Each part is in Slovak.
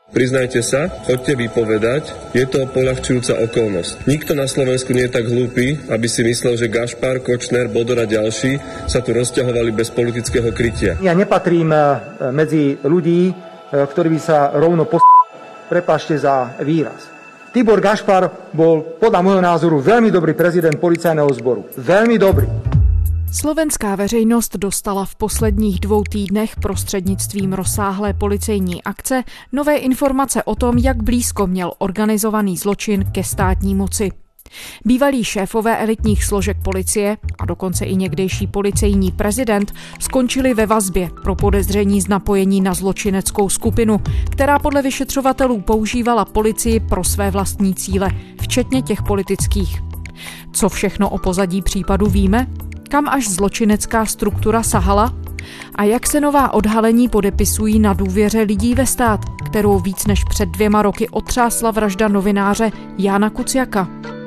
Priznajte sa, choďte vypovedať, je to poľahčujúca okolnosť. Nikto na Slovensku nie je tak hlúpy, aby si myslel, že Gašpar, Kočner, Bodor a ďalší sa tu rozťahovali bez politického krytia. Ja nepatrím medzi ľudí, ktorí by sa rovno prepáčte za výraz. Tibor Gašpar bol podľa môjho názoru veľmi dobrý prezident policajného zboru. Veľmi dobrý. Slovenská veřejnost dostala v posledních 2 týdnech prostřednictvím rozsáhlé policejní akce nové informace o tom, jak blízko měl organizovaný zločin ke státní moci. Bývalí šéfové elitních složek policie a dokonce i někdejší policejní prezident skončili ve vazbě pro podezření z napojení na zločineckou skupinu, která podle vyšetřovatelů používala policii pro své vlastní cíle, včetně těch politických. Co všechno o pozadí případu víme? Kam až zločinecká struktura sahala? A jak se nová odhalení podepisují na důvěře lidí ve stát, kterou víc než před 2 roky otřásla vražda novináře Jána Kuciaka?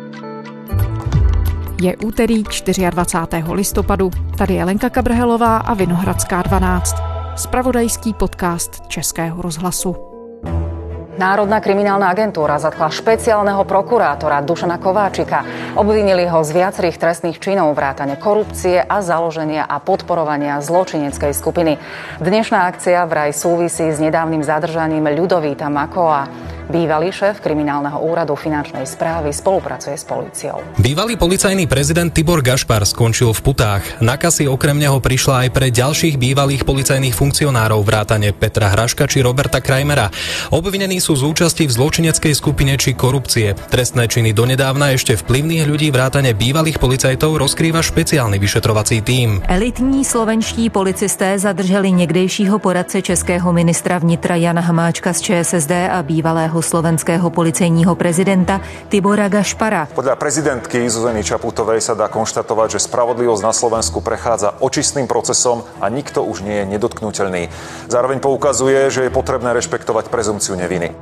Je úterý 24. listopadu. Tady je Lenka Kabrhelová a Vinohradská 12. Spravodajský podcast Českého rozhlasu. Národná kriminálna agentúra zatkla špeciálneho prokurátora Dušana Kováčika. Obvinili ho z viacerých trestných činov vrátane korupcie a založenia a podporovania zločineckej skupiny. Dnešná akcia vraj súvisí s nedávnym zadržaním Ľudovíta Makóa. Bývalý šéf kriminálneho úradu finančnej správy spolupracuje s políciou. Bývalý policajný prezident Tibor Gašpar skončil v putách. Nakaz okrem neho prišla aj pre ďalších bývalých policajných funkcionárov vrátane Petra Hraška či Roberta Krajmera. Obvinení sú z účasti v zločineckej skupine či korupcie. Trestné činy donedávna ešte vplyvných ľudí vrátane bývalých policajtov rozkrýva špeciálny vyšetrovací tím. Elitní slovenští policisté zadrželi někdejšího poradce českého ministra vnitra Jana Hamáčka z ČSSD a bývalého slovenského policejního prezidenta Tibora Gašpara. Podľa prezidentky Zuzany Čaputovej sa dá konštatovať, že spravodlivosť na Slovensku prechádza očistným procesom a nikto už nie je nedotknuteľný. Zároveň poukazuje, že je potrebné rešpektovať prezumciu neviny.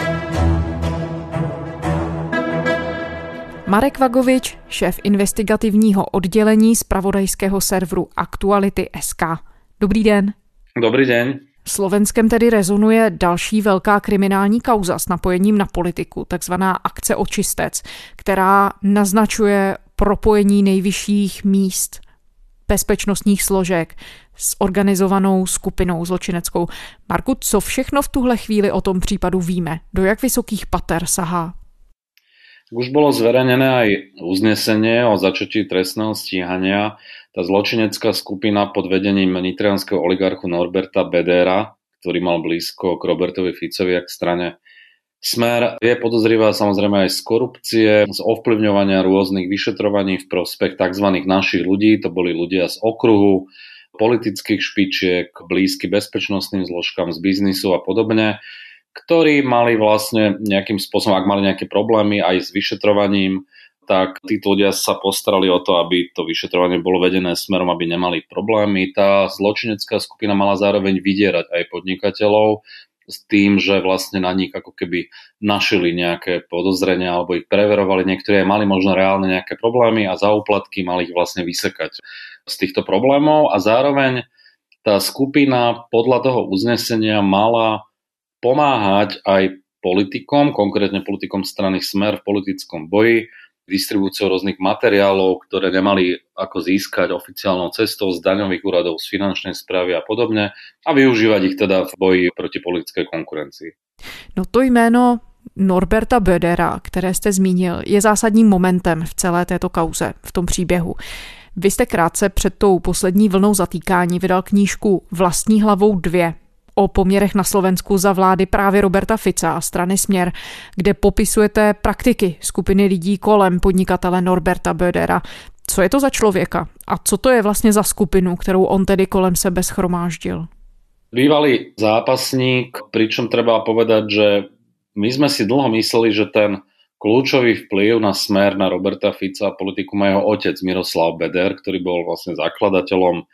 Marek Vagovič, šéf investigativního oddělení zpravodajského serveru Aktuality.sk. Dobrý den. Dobrý den. Slovenskem tedy rezonuje další velká kriminální kauza s napojením na politiku, takzvaná akce Očistec, která naznačuje propojení nejvyšších míst bezpečnostních složek s organizovanou skupinou zločineckou. Marku, co všechno v tuhle chvíli o tom případu víme? Do jak vysokých pater sahá? Už bolo zverejnené aj uznesenie o začatí trestného stíhania. Tá zločinecká skupina pod vedením nitrianskeho oligarchu Norberta Bedera, ktorý mal blízko k Robertovi Ficovi a k strane Smer, je podozrivá samozrejme aj z korupcie, z ovplyvňovania rôznych vyšetrovaní v prospech tzv. Našich ľudí. To boli ľudia z okruhu, politických špičiek, blízky bezpečnostným zložkám z biznisu a podobne, ktorí mali vlastne nejakým spôsobom, ak mali nejaké problémy aj s vyšetrovaním, tak títo ľudia sa postarali o to, aby to vyšetrovanie bolo vedené smerom, aby nemali problémy. Tá zločinecká skupina mala zároveň vydierať aj podnikateľov s tým, že vlastne na nich ako keby našili nejaké podozrenia alebo ich preverovali. Niektorí mali možno reálne nejaké problémy a za úplatky mali ich vlastne vysekať z týchto problémov a zároveň tá skupina podľa toho uznesenia mala pomáhať aj politikom, konkrétne politikom strany Smer v politickom boji, distribúciou rôznych materiálov, ktoré nemali ako získať oficiálnou cestou z daňových úradov, z finančnej správy a podobne a využívať ich teda v boji proti politickej konkurencii. No to jméno Norberta Bedera, které jste zmínil, je zásadním momentem v celé této kauze, v tom příběhu. Vy jste krátce před tou poslední vlnou zatýkání vydal knížku Vlastní hlavou 2 o poměrech na Slovensku za vlády právě Roberta Fica a strany Směr, kde popisujete praktiky skupiny lidí kolem podnikatele Norberta Bedera. Co je to za člověka a co to je vlastně za skupinu, kterou on tedy kolem sebe schromáždil? Bývalý zápasník, pričom treba povedať, že my sme si dlho mysleli, že ten kľúčový vplyv na Smer, na Roberta Fica a politiku má jeho otec Miroslav Beder, ktorý bol vlastne zakladateľom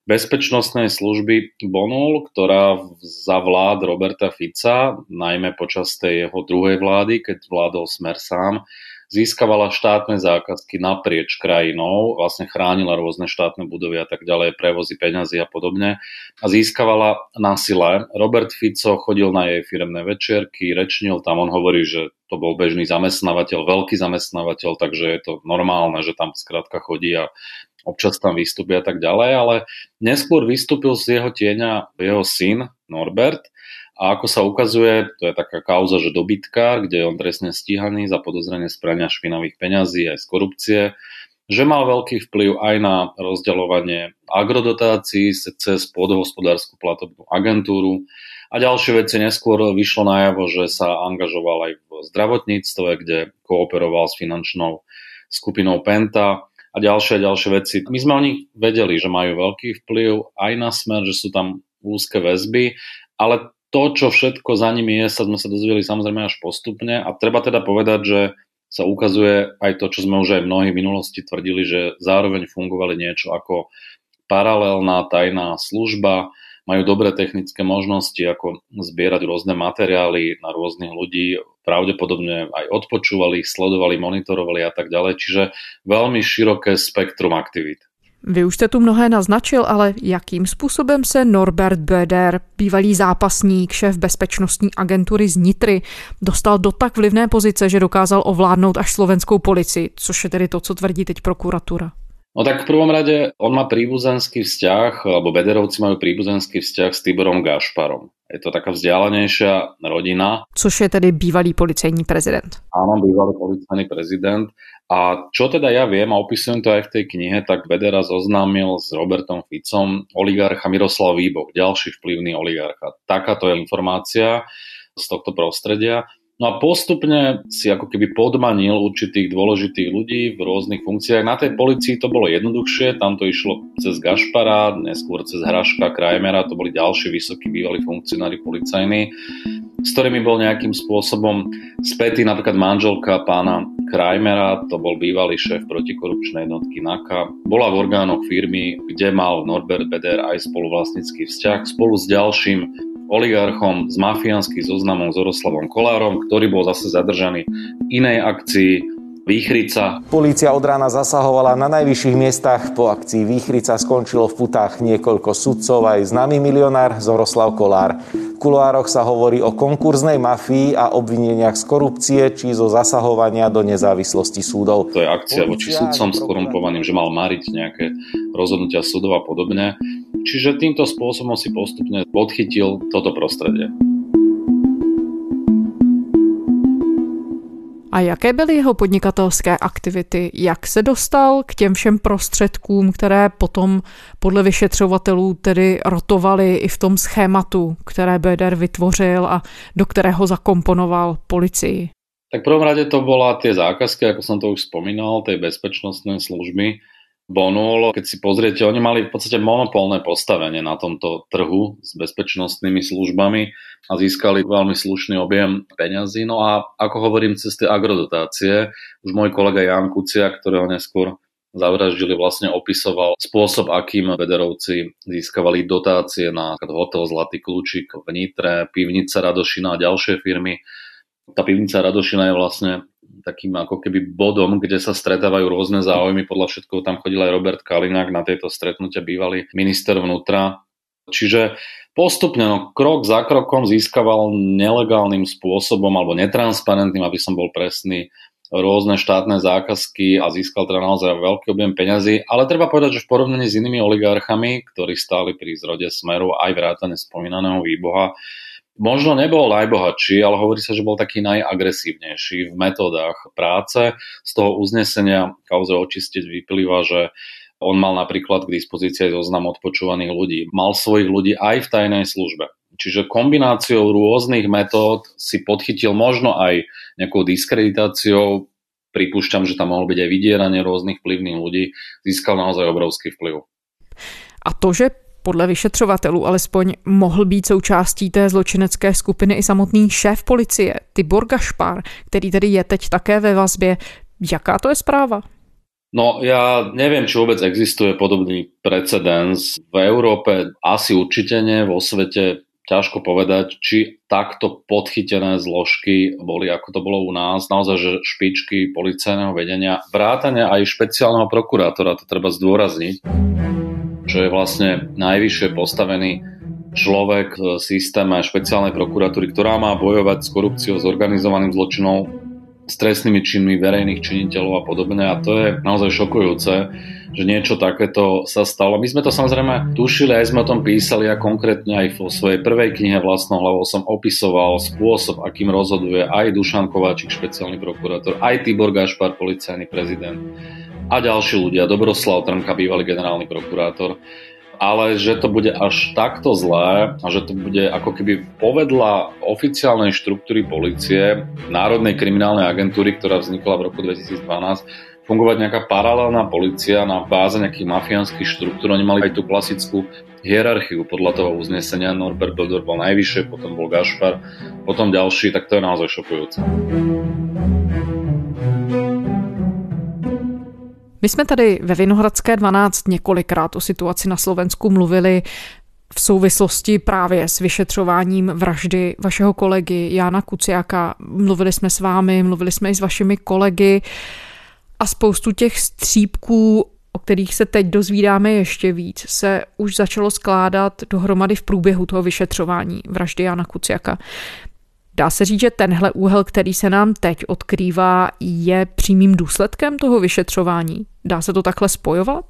bezpečnostnej služby Bonul, ktorá za vlád Roberta Fica, najmä počas tej jeho druhej vlády, keď vládol Smer sám, získavala štátne zákazky naprieč krajinou, vlastne chránila rôzne štátne budovy a tak ďalej, prevozy peňazí a podobne a získavala na sile. Robert Fico chodil na jej firemné večierky, rečnil tam, on hovorí, že to bol bežný zamestnávateľ, veľký zamestnávateľ, takže je to normálne, že tam skrátka chodí a občas tam vystúpi a tak ďalej, ale neskôr vystúpil z jeho tieňa jeho syn Norbert. A ako sa ukazuje, to je taká kauza, že dobytkár, kde je on trestne stíhaný za podozrenie z prania špinavých peňazí aj z korupcie, že mal veľký vplyv aj na rozdeľovanie agrodotácií cez podhospodárskú platobnú agentúru a ďalšie veci. Neskôr vyšlo najavo, že sa angažoval aj v zdravotníctve, kde kooperoval s finančnou skupinou Penta a ďalšie veci. My sme o nich vedeli, že majú veľký vplyv aj na Smer, že sú tam úzke väzby, ale to, čo všetko za nimi je, sme sa dozvedeli samozrejme až postupne a treba teda povedať, že sa ukazuje aj to, čo sme už aj mnohí v minulosti tvrdili, že zároveň fungovali niečo ako paralelná tajná služba, majú dobré technické možnosti, ako zbierať rôzne materiály na rôznych ľudí, pravdepodobne aj odpočúvali ich, sledovali, monitorovali a tak ďalej, čiže veľmi široké spektrum aktivít. Vy už jste tu mnohé naznačil, ale jakým způsobem se Norbert Böder, bývalý zápasník, šéf bezpečnostní agentury z Nitry, dostal do tak vlivné pozice, že dokázal ovládnout až slovenskou policii, což je tedy to, co tvrdí teď prokuratura? No tak v prvom rade on má príbuzenský vzťah, alebo Böderovci majú príbuzenský vzťah s Tiborom Gašparom. Je to taká vzdialenejšia rodina. Což je tedy bývalý policejní prezident. Áno, bývalý policajný prezident. A čo teda ja viem, a opisujem to aj v tej knihe, tak Bödera zoznámil s Robertom Ficom oligarcha Miroslav Výboh, ďalší vplyvný oligarcha. Takáto je informácia z tohto prostredia. No a postupne si ako keby podmanil určitých dôležitých ľudí v rôznych funkciách. Na tej polícii to bolo jednoduchšie, tam to išlo cez Gašpara, neskôr cez Hraška, Krajmera, to boli ďalší vysokí bývalí funkcionári policajní, s ktorými bol nejakým spôsobom spätý napríklad manželka pána Krajmera, to bol bývalý šéf protikorupčnej jednotky NAKA, bola v orgánoch firmy, kde mal Norbert Böder aj spoluvlastnícky vzťah spolu s ďalším oligarchom z mafiánskych zoznamov Zoroslavom Kolárom, ktorý bol zase zadržaný v inej akcii Výchrica. Polícia od rána zasahovala na najvyšších miestach. Po akcii Výchrica skončilo v putách niekoľko sudcov, aj známy milionár Zoroslav Kolár. V kuloároch sa hovorí o konkurznej mafii a obvineniach z korupcie či zo zasahovania do nezávislosti súdov. To je akcia voči sudcom skorumpovaným, že mal mariť nejaké rozhodnutia súdov a podobne. Čiže týmto spôsobom si postupne podchytil toto prostredie. A jaké byly jeho podnikatelské aktivity? Jak se dostal k těm všem prostředkům, které potom podle vyšetřovatelů tedy rotovaly i v tom schématu, které Böder vytvořil a do kterého zakomponoval policii? Tak v prvom rade to bola tie zákazky, ako som to už spomínal, tej bezpečnostnej služby Bonul. Keď si pozriete, oni mali v podstate monopolné postavenie na tomto trhu s bezpečnostnými službami a získali veľmi slušný objem peňazí. No a ako hovorím, cez tie agrodotácie, už môj kolega Ján Kuciak, ktorého neskôr zavraždili, vlastne opisoval spôsob, akým Böderovci získavali dotácie na hotel Zlatý kľúčik v Nitre, pivnica Radošina a ďalšie firmy. Tá pivnica Radošina je vlastne takým ako keby bodom, kde sa stretávajú rôzne záujmy. Podľa všetkého tam chodil aj Robert Kaliňák na tieto stretnutia, bývalý minister vnútra. Čiže postupne, krok za krokom získaval nelegálnym spôsobom alebo netransparentným, aby som bol presný, rôzne štátne zákazky a získal teda naozaj veľký objem peňazí. Ale treba povedať, že v porovnaní s inými oligarchami, ktorí stáli pri zrode Smeru, aj vrátane spomínaného Výboha, možno nebol najbohatší, ale hovorí sa, že bol taký najagresívnejší v metódach práce. Z toho uznesenia kauze očistiť vyplýva, že on mal napríklad k dispozícii zoznam odpočúvaných ľudí. Mal svojich ľudí aj v tajnej službe. Čiže kombináciou rôznych metód si podchytil možno aj nejakou diskreditáciou, pripúšťam, že tam mohol byť aj vydieranie rôznych vplyvných ľudí, získal naozaj obrovský vplyv. A to, že podle vyšetřovatelů alespoň mohl být součástí té zločinecké skupiny i samotný šéf policie Tibor Gašpar, který tedy je teď také ve vazbě. Jaká to je zpráva? No ja neviem, či vôbec existuje podobný precedens. V Európe asi určite nie, vo svete ťažko povedať, či takto podchytené zložky boli, ako to bolo u nás. Naozaj, že špičky policajného vedenia, vrátane aj špeciálneho prokurátora, to treba zdôrazniť, čo je vlastne najvyššie postavený človek v systéme špeciálnej prokuratúry, ktorá má bojovať s korupciou, s organizovaným zločinom, s trestnými činmi verejných činiteľov a podobne. A to je naozaj šokujúce, že niečo takéto sa stalo. My sme to samozrejme tušili, aj sme o tom písali a konkrétne aj vo svojej prvej knihe Vlastnou hlavou som opisoval spôsob, akým rozhoduje aj Dušan Kováčik, špeciálny prokurátor, aj Tibor Gašpar, policajný prezident a ďalší ľudia, Dobroslav Trnka, bývalý generálny prokurátor. Ale že to bude až takto zlé a že to bude ako keby povedla oficiálnej štruktúry polície, Národnej kriminálnej agentúry, ktorá vznikla v roku 2012, fungovať nejaká paralelná polícia na báze nejakých mafiánskych štruktúr. Oni mali aj tú klasickú hierarchiu podľa toho uznesenia. Norbert Bodor bol najvyššie, potom bol Gašpar, potom ďalší, tak to je naozaj šokujúce. My jsme tady ve Vinohradské 12 několikrát o situaci na Slovensku mluvili v souvislosti právě s vyšetřováním vraždy vašeho kolegy Jána Kuciaka. Mluvili jsme s vámi, mluvili jsme i s vašimi kolegy a spoustu těch střípků, o kterých se teď dozvídáme ještě víc, se už začalo skládat dohromady v průběhu toho vyšetřování vraždy Jána Kuciaka. Dá se říct, že tenhle úhel, který se nám teď odkrývá, je přímým důsledkem toho vyšetřování? Dá se to takhle spojovat?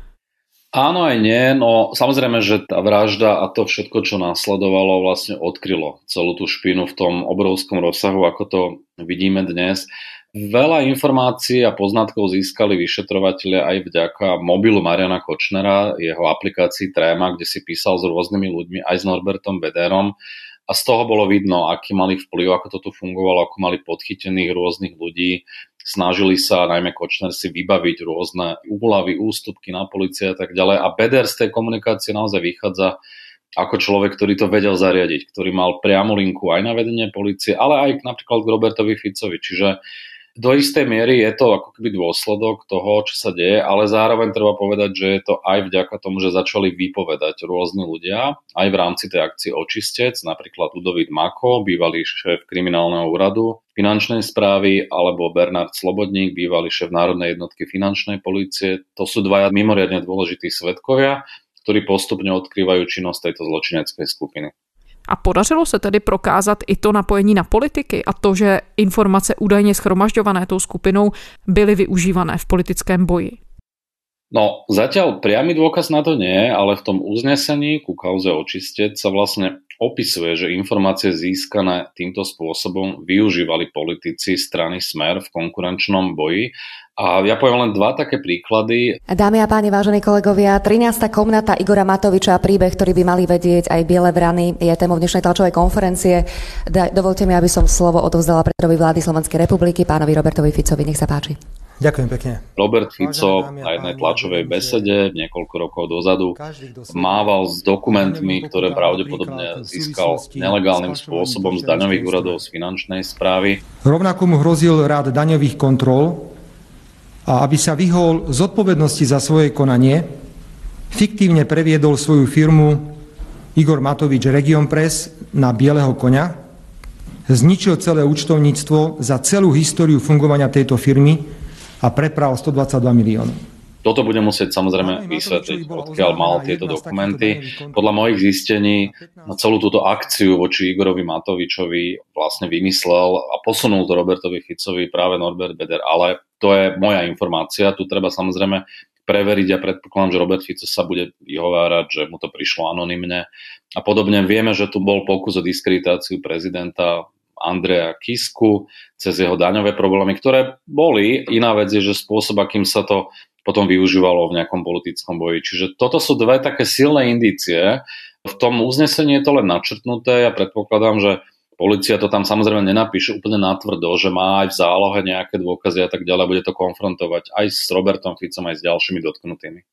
Áno aj nie, no samozrejme, že tá vražda a to všetko, čo následovalo, vlastne odkrylo celú tú špinu v tom obrovskom rozsahu, ako to vidíme dnes. Veľa informácií a poznatkov získali vyšetrovatelia aj vďaka mobilu Mariana Kočnera, jeho aplikácii Tréma, kde si písal s rôznymi ľuďmi, aj s Norbertom Bederom. A z toho bolo vidno, aký mali vplyv, ako to tu fungovalo, ako mali podchytených rôznych ľudí. Snažili sa, najmä Kočner, si vybaviť rôzne úľavy, ústupky na polícii a tak ďalej. A Beder z tej komunikácie naozaj vychádza ako človek, ktorý to vedel zariadiť, ktorý mal priamu linku aj na vedenie polície, ale aj napríklad k Robertovi Ficovi. Čiže do istej miery je to ako keby dôsledok toho, čo sa deje, ale zároveň treba povedať, že je to aj vďaka tomu, že začali vypovedať rôzni ľudia, aj v rámci tej akcie Očistec, napríklad Ludovít Mako, bývalý šéf kriminálneho úradu finančnej správy, alebo Bernard Slobodník, bývalý šéf Národnej jednotky finančnej polície. To sú dvaja mimoriadne dôležití svedkovia, ktorí postupne odkrývajú činnosť tejto zločineckej skupiny. A podařilo se tedy prokázat i to napojení na politiky a to, že informace údajně shromažďované tou skupinou byly využívané v politickém boji? No, zatiaľ priamy dôkaz na to nie, ale v tom uznesení ku kauze Očistec sa vlastne opisuje, že informácie získané týmto spôsobom využívali politici strany Smer v konkurenčnom boji. A ja poviem len dva také príklady. Dámy a páni, vážení kolegovia, 13. komnata Igora Matoviča, príbeh, ktorý by mali vedieť aj Biele vrany, je témou dnešnej tlačovej konferencie. Dovolte mi, aby som slovo odovzdala predsedovi vlády Slovenskej republiky, pánovi Robertovi Ficovi. Nech sa páči. Ďakujem pekne. Robert Fico na jednej tlačovej besede niekoľko rokov dozadu mával s dokumentmi, ktoré pravdepodobne získal nelegálnym spôsobom z daňových úradov, z finančnej správy. Rovnako mu hrozil rád daňových kontrol a aby sa vyhol zodpovednosti za svoje konanie, fiktívne previedol svoju firmu Igor Matovič Region Press na bieleho koňa, zničil celé účtovníctvo za celú históriu fungovania tejto firmy a prepral 122 miliónov. Toto bude musieť samozrejme vysvetliť, odkiaľ mal tieto dokumenty. Podľa mojich zistení celú túto akciu voči Igorovi Matovičovi vlastne vymyslel a posunul to Robertovi Ficovi práve Norbert Beder, ale to je moja informácia. Tu treba samozrejme preveriť a predpokladám, že Robert Fico sa bude vyhovárať, že mu to prišlo anonymne. A podobne vieme, že tu bol pokus o diskreditáciu prezidenta Andreja Kisku cez jeho daňové problémy, ktoré boli. Iná vec je, že spôsob, akým sa to potom využívalo v nejakom politickom boji. Čiže toto sú dve také silné indície. V tom uznesení je to len načrtnuté. Ja predpokladám, že polícia to tam samozrejme nenapíše úplne natvrdo, že má aj v zálohe nejaké dôkazy a tak ďalej. Bude to konfrontovať aj s Robertom Ficom, aj s ďalšími dotknutými.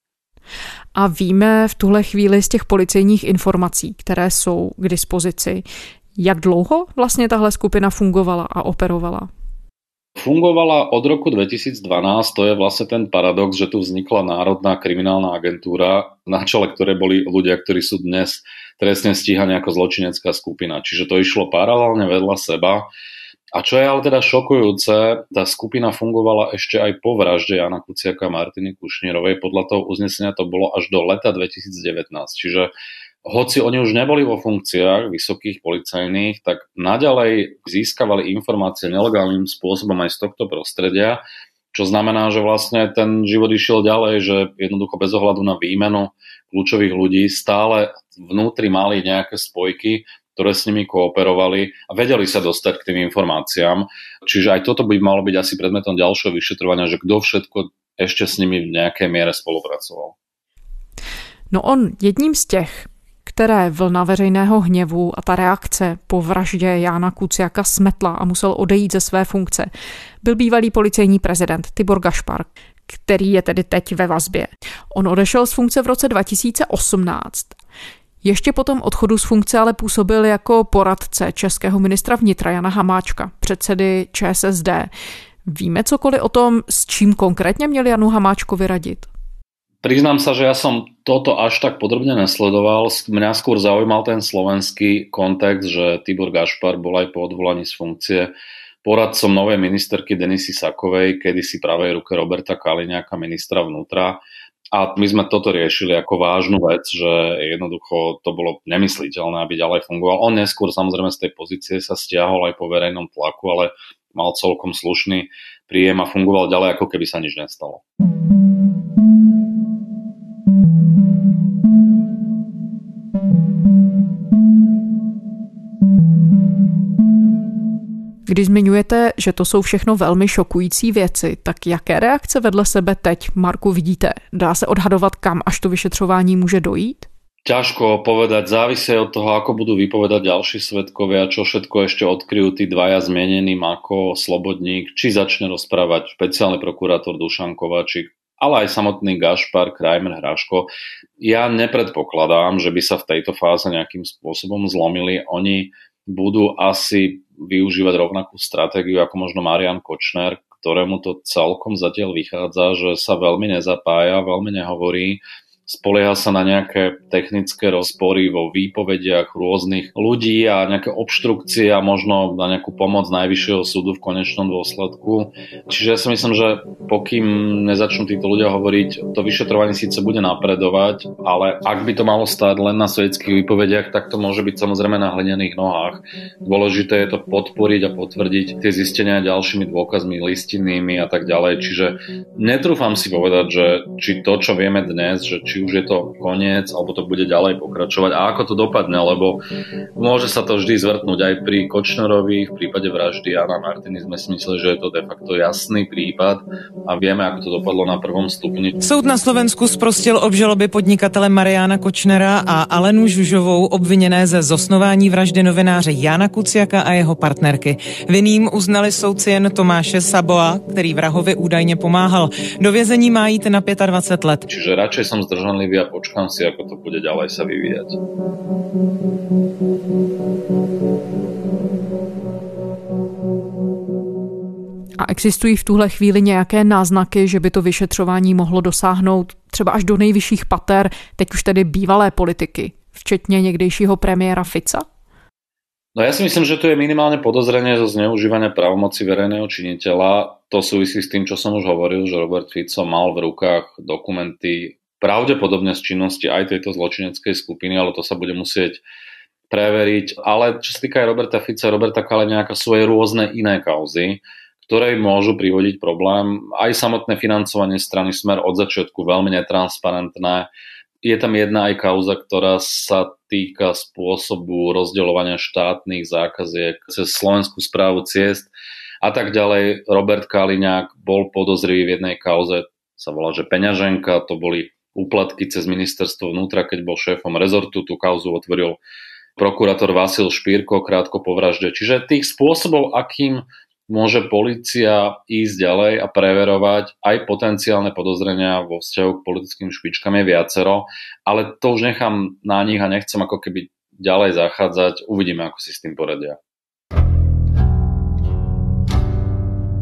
A víme v tuhle chvíli z těch policejních informací, které jsou k dispozici, jak dlouho vlastně tahle skupina fungovala a operovala? Fungovala od roku 2012, to je vlastne ten paradox, že tu vznikla Národná kriminálna agentúra, na čele ktorej boli ľudia, ktorí sú dnes trestne stíhaní ako zločinecká skupina. Čiže to išlo paralelne vedľa seba. A čo je ale teda šokujúce, tá skupina fungovala ešte aj po vražde Jána Kuciaka a Martiny Kušnírovej. Podľa toho uznesenia to bolo až do leta 2019. Čiže hoci oni už neboli vo funkciách vysokých policajných, tak naďalej získavali informácie nelegálnym spôsobom aj z tohto prostredia, čo znamená, že vlastne ten život išiel ďalej, že jednoducho bez ohľadu na výmenu kľúčových ľudí stále vnútri mali nejaké spojky, ktoré s nimi kooperovali a vedeli sa dostať k tým informáciám. Čiže aj toto by malo byť asi predmetom ďalšieho vyšetrovania, že kto všetko ešte s nimi v nejakej miere spolupracoval. No on jedním z těch, které vlna veřejného hněvu a ta reakce po vraždě Jána Kuciaka smetla a musel odejít ze své funkce, byl bývalý policejní prezident Tibor Gašpar, který je tedy teď ve vazbě. On odešel z funkce v roce 2018. Ještě po tom odchodu z funkce ale působil jako poradce českého ministra vnitra Jana Hamáčka, předsedy ČSSD. Víme cokoliv o tom, s čím konkrétně měl Janu Hamáčkovi radit? Priznám sa, že ja som toto až tak podrobne nesledoval. Mňa skôr zaujímal ten slovenský kontext, že Tibor Gašpar bol aj po odvolaní z funkcie poradcom novej ministerky Denisy Sakovej, kedysi pravej ruke Roberta Kaliňáka, ministra vnútra. A my sme toto riešili ako vážnu vec, že jednoducho to bolo nemysliteľné, aby ďalej fungoval. On neskôr samozrejme z tej pozície sa stiahol aj po verejnom tlaku, ale mal celkom slušný príjem a fungoval ďalej, ako keby sa nič nestalo. Když zmiňujete, že to jsou všechno velmi šokující věci, tak jaké reakce vedle sebe teď, Marku, vidíte? Dá se odhadovat, kam až to vyšetřování může dojít? Ťažko povedať, závisí od toho, ako budú vypovedať ďalší svedkovia, čo všetko ešte odkryjú tí dvaja zmienení, Mako, Slobodník, či začne rozprávať špeciálny prokurátor Dušan Kováčik, ale aj samotný Gašpar, Krajmer, Hraško. Ja nepredpokladám, že by sa v tejto fáze nejakým spôsobom zlomili. Oni budú asi využívať rovnakú stratégiu ako možno Marian Kočner, ktorému to celkom zatiaľ vychádza, že sa veľmi nezapája, veľmi nehovorí, spolieha sa na nejaké technické rozpory vo výpovediach rôznych ľudí a nejaké obštrukcie a možno na nejakú pomoc Najvyššieho súdu v konečnom dôsledku. Čiže ja si myslím, že pokým nezačnú títo ľudia hovoriť, to vyšetrovanie síce bude napredovať, ale ak by to malo stáť len na svedských výpovediach, tak to môže byť samozrejme na hlinených nohách. Dôležité je to podporiť a potvrdiť tie zistenia ďalšími dôkazmi listinnými a tak ďalej. Čiže netrúfam si povedať, že či to, čo vieme dnes, že či už je to koniec, alebo to bude ďalej pokračovať a ako to dopadne, lebo môže sa to vždy zvrtnúť aj pri Kočnerovi, v prípade vraždy Jana Martiny sme si mysleli, že je to de facto jasný prípad a vieme, ako to dopadlo na prvom stupni. Soud na Slovensku sprostil obžaloby podnikatele Mariána Kočnera a Alenu Žužovou obviněné ze zosnování vraždy novináře Jána Kuciaka a jeho partnerky. Vinným uznali soudci jen Tomáše Saboa, který vrahovi údajně pomáhal. Do vězení má jít na 25 let. Čiže radšej som zdržanlivý a počkám si, ako to bude ďalej sa vyvíjať. A existují v tuhle chvíli nějaké náznaky, že by to vyšetřování mohlo dosáhnout třeba až do nejvyšších pater, teď už tedy bývalé politiky, včetně někdejšího premiéra Fica? No ja si myslím, že tu je minimálne podozrenie zo zneužívania právomoci verejného činiteľa. To súvisí s tým, čo som už hovoril, že Robert Fico mal v rukách dokumenty pravdepodobne z činnosti aj tejto zločineckej skupiny, ale to sa bude musieť preveriť. Ale čo sa týka aj Roberta Fica, Roberta Kaliňáka, sú aj rôzne iné kauzy, ktoré môžu privodiť problém. Aj samotné financovanie strany Smer od začiatku veľmi netransparentné. Je tam jedna aj kauza, ktorá sa týka spôsobu rozdeľovania štátnych zákaziek cez Slovenskú správu ciest a tak ďalej. Robert Kaliňák bol podozrivý v jednej kauze, sa volá, že peňaženka, to boli úplatky cez ministerstvo vnútra, keď bol šéfom rezortu. Tú kauzu otvoril prokurátor Vasil Špírko krátko po vražde. Čiže tých spôsobov, akým môže polícia ísť ďalej a preverovať aj potenciálne podozrenia vo vzťahu k politickým špičkám je viacero, ale to už nechám na nich a nechcem ako keby ďalej zachádzať. Uvidíme, ako si s tým poradia.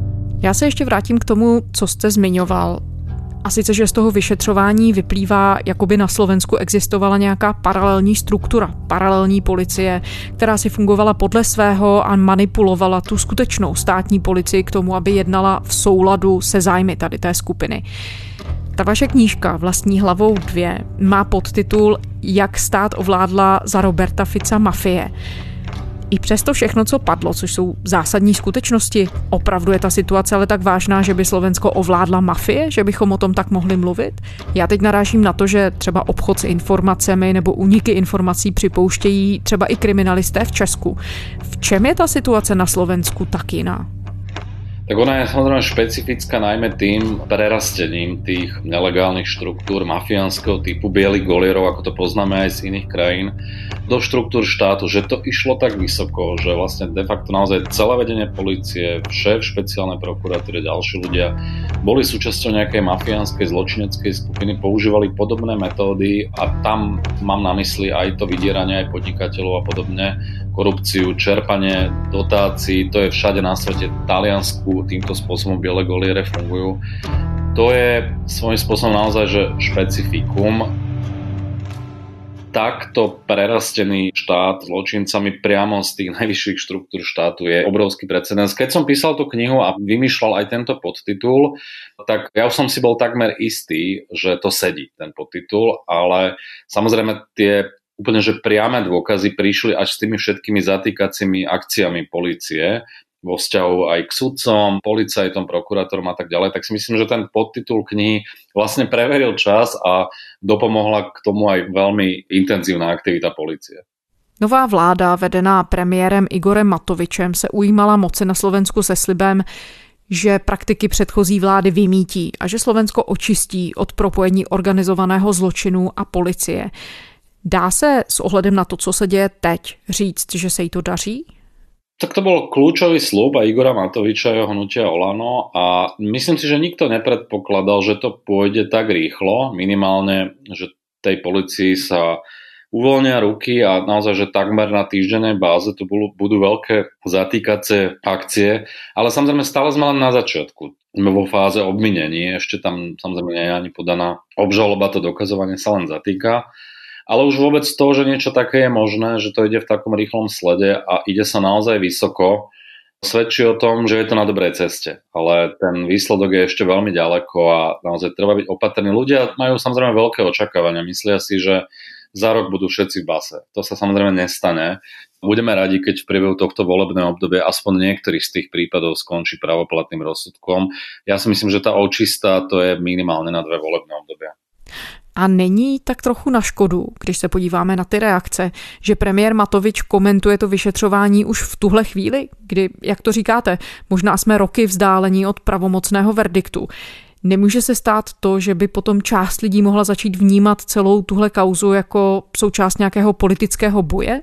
Já se ještě vrátím k tomu, co jste zmiňoval. A sice, že z toho vyšetřování vyplývá, jakoby na Slovensku existovala nějaká paralelní struktura, paralelní policie, která si fungovala podle svého a manipulovala tu skutečnou státní policii k tomu, aby jednala v souladu se zájmy tady té skupiny. Ta vaše knížka Vlastní hlavou 2 má podtitul Jak stát ovládla za Roberta Fica mafie. I přesto všechno, co padlo, což jsou zásadní skutečnosti, opravdu je ta situace ale tak vážná, že by Slovensko ovládla mafie, že bychom o tom tak mohli mluvit? Já teď narážím na to, že třeba obchod s informacemi nebo úniky informací připouštějí třeba i kriminalisté v Česku. V čem je ta situace na Slovensku tak jiná? Tak ona je samozrejme špecifická najmä tým prerastením tých nelegálnych štruktúr mafiánskeho typu bielých golierov, ako to poznáme aj z iných krajín, do štruktúr štátu, že to išlo tak vysoko, že vlastne de facto naozaj celé vedenie polície, šéf špeciálnej prokuratúry, ďalší ľudia boli súčasťou nejakej mafiánskej zločineckej skupiny, používali podobné metódy a tam mám na mysli aj to vydieranie aj podnikateľov a podobne, korupciu, čerpanie dotácií, to je všade na svete, v Taliansku týmto spôsobom biele goliere fungujú. To je svojím spôsobom naozaj že špecifikum. Takto prerastený štát zločincami priamo z tých najvyšších štruktúr štátu je obrovský precedens. Keď som písal tú knihu a vymýšľal aj tento podtitul, tak ja už som si bol takmer istý, že to sedí, ten podtitul, ale samozrejme tie úplne že priame dôkazy prišli až s tými všetkými zatýkacími akciami polície vo vzťahu aj k sudcom, policajtom, prokurátorom a tak ďalej, tak si myslím, že ten podtitul knihy vlastne preveril čas a dopomohla k tomu aj veľmi intenzívna aktivita polície. Nová vláda, vedená premiérem Igorem Matovičem, se ujímala moci na Slovensku se slibem, že praktiky předchozí vlády vymítí a že Slovensko očistí od propojení organizovaného zločinu a policie. Dá se s ohledem na to, co se děje teď, říct, že se jí to daří? Tak to bol kľúčový sľub aj Igora Matoviča a jeho hnutia Olano a myslím si, že nikto nepredpokladal, že to pôjde tak rýchlo, minimálne, že tej policii sa uvoľnia ruky a naozaj, že takmer na týždennej báze tu budú veľké zatýkacie akcie, ale samozrejme stále sme len na začiatku. Sme vo fáze obvinení, ešte tam samozrejme nie je ani podaná obžaloba, to dokazovanie sa len zatýka. Ale už vôbec to, že niečo také je možné, že to ide v takom rýchlom slede a ide sa naozaj vysoko, svedčí o tom, že je to na dobrej ceste. Ale ten výsledok je ešte veľmi ďaleko a naozaj treba byť opatrný. Ľudia majú samozrejme veľké očakávania. Myslia si, že za rok budú všetci v base. To sa samozrejme nestane. Budeme radi, keď v priebehu tohto volebného obdobia aspoň niektorý z tých prípadov skončí pravoplatným rozsudkom. Ja si myslím, že tá očista to je minimálne na 2 volebné obdobia. A není tak trochu na škodu, když se podíváme na ty reakce, že premiér Matovič komentuje to vyšetřování už v tuhle chvíli, kdy, jak to říkáte, možná jsme roky vzdálení od pravomocného verdiktu. Nemůže se stát to, že by potom část lidí mohla začít vnímat celou tuhle kauzu jako součást nějakého politického boje?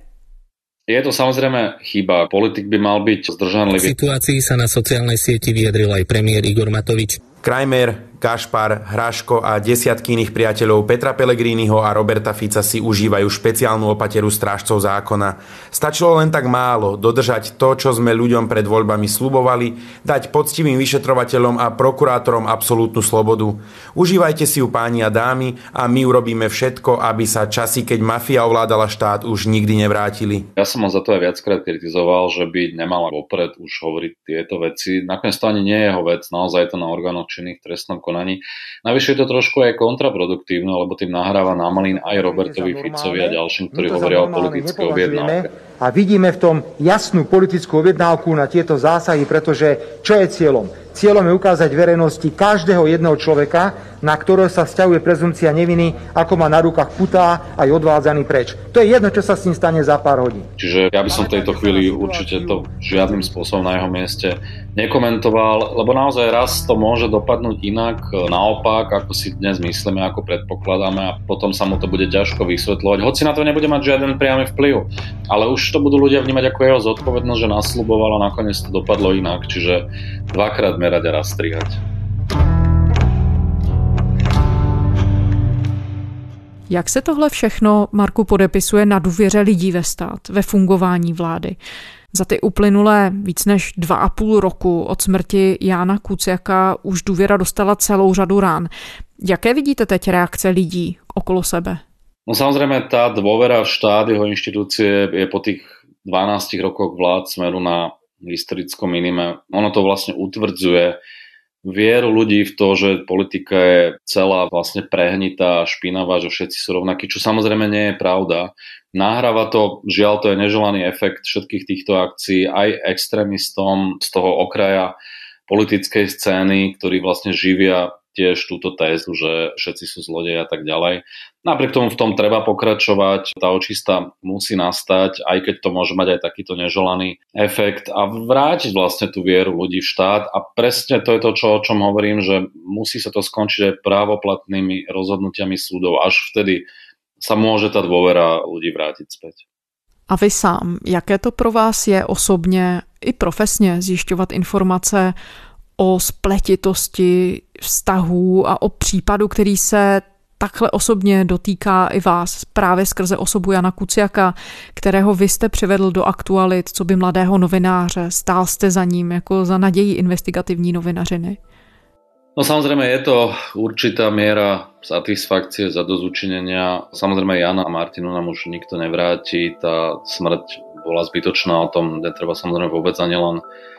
Je to samozrejme chyba. Politik by mal byť zdržanlivý. V situácii sa na sociálnej sieti vyjadril aj premiér Igor Matovič. Kreimer, Gašpar, Hraško a desiatky iných priateľov Petra Pellegriniho a Roberta Fica si užívajú špeciálnu opateru strážcov zákona. Stačilo len tak málo dodržať to, čo sme ľuďom pred voľbami sľubovali, dať poctivým vyšetrovateľom a prokurátorom absolútnu slobodu. Užívajte si ju, páni a dámy, a my urobíme všetko, aby sa časy, keď mafia ovládala štát, už nikdy nevrátili. Ja som ho za to aj viackrát kritizoval, že by nemala vopred už hovoriť tieto veci. Nakoniec to ani nie je jeho vec, naozaj to na orgánoch činných v trestnom konaní. Navyše je to trošku aj kontraproduktívne, lebo tým nahráva námalín aj Robertovi Ficovi a ďalším, ktorí hovoria o politickej objednávke. A vidíme v tom jasnú politickú objednávku na tieto zásahy, pretože čo je cieľom? Cieľom je ukázať verejnosti každého jedného človeka, na ktorého sa vzťahuje prezumpcia neviny, ako má na rukách putá a je odvádzaný preč. To je jedno, čo sa s ním stane za pár hodín. Čiže ja by som v tejto chvíli určite to žiadnym spôsobom na jeho mieste nekomentoval, lebo naozaj raz to môže dopadnúť inak, naopak, ako si dnes myslíme, ako predpokladáme, a potom sa mu to bude ťažko vysvetľovať. Hoci na to nebude mať žiaden priamy vplyv, ale už to budú ľudia vnímať ako jeho zodpovednosť, že nasľuboval a nakoniec to dopadlo inak, čiže dvakrát merať a raz strihať. Jak se tohle všechno, Marku, podepisuje na důvěře lidí ve stát, ve fungování vlády? Za ty uplynulé víc než 2,5 roku od smrti Jána Kuciaka už důvěra dostala celou řadu rán. Jaké vidíte teď reakce lidí okolo sebe? No samozrejme, tá dôvera v štát, jeho inštitúcie je po tých 12 rokoch vlád Smeru na historickom minime. Ono to vlastne utvrdzuje vieru ľudí v to, že politika je celá vlastne prehnitá, špinavá, že všetci sú rovnakí, čo samozrejme nie je pravda. Nahráva to, žiaľ, to je neželaný efekt všetkých týchto akcií aj extrémistom z toho okraja politickej scény, ktorí vlastne živia tiež túto tézu, že všetci sú zlodeji a tak ďalej. Napriek tomu v tom treba pokračovať, tá očista musí nastať, aj keď to môže mať aj takýto neželaný efekt a vrátiť vlastne tú vieru ľudí v štát a presne to je to, o čom hovorím, že musí sa to skončiť aj právoplatnými rozhodnutiami súdov, až vtedy sa môže tá dôvera ľudí vrátiť späť. A vy sám, jaké to pro vás je osobně i profesně zjišťovat informace o spletitosti vztahů a o případu, který se takhle osobně dotýká i vás právě skrze osobu Jana Kuciaka, kterého vy jste přivedl do aktualit, co by mladého novináře, stál jste za ním jako za naději investigativní novinařiny? No samozrejme je to určitá miera satisfakcie, zadozučinenia. Samozrejme Jana a Martinu nám už nikto nevráti, tá smrť bola zbytočná, o tom netreba samozrejme vôbec ani len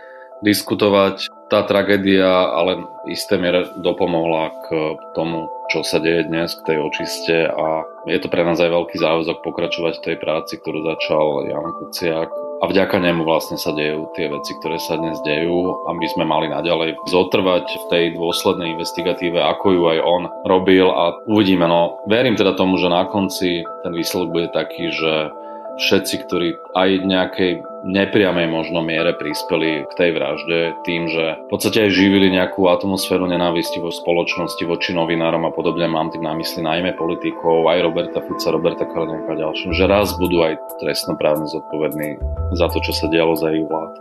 diskutovať. Tá tragédia ale v isté miere dopomohla k tomu, čo sa deje dnes, k tej očiste a je to pre nás aj veľký záväzok pokračovať v tej práci, ktorú začal Jan Kuciak. A vďaka nemu vlastne sa dejú tie veci, ktoré sa dnes dejú, aby sme mali naďalej zotrvať v tej dôslednej investigatíve, ako ju aj on robil a uvidíme. No, verím teda tomu, že na konci ten výsledok bude taký, že všetci, ktorí aj v nejakej nepriamej možno miere prispeli k tej vražde tým, že v podstate aj živili nejakú atmosféru nenávisti vo spoločnosti voči novinárom a podobne, mám tým na mysli najmä politikov, aj Roberta Fica, Roberta Kaliňáka a ďalším, že raz budú aj trestnoprávne zodpovední za to, čo sa dialo za ich vlád.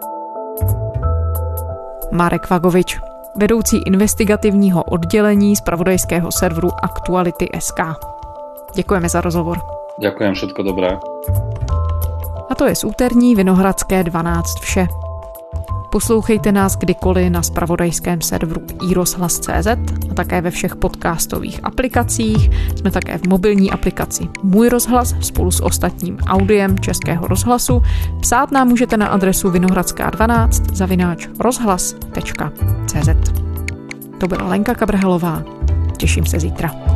Marek Vagovič, vedoucí investigativního oddělení zpravodajského serveru Aktuality.sk. Děkujeme za rozhovor. Ďakujem, všetko dobré. A to je z úterní Vinohradské 12 vše. Poslouchejte nás kdykoliv na zpravodajském serveru iRozhlas.cz a také ve všech podcastových aplikacích. Jsme také v mobilní aplikaci Můj rozhlas spolu s ostatním audiem Českého rozhlasu. Psát nám můžete na adresu vinohradská12@rozhlas.cz. To byla Lenka Kabrhelová. Těším se zítra.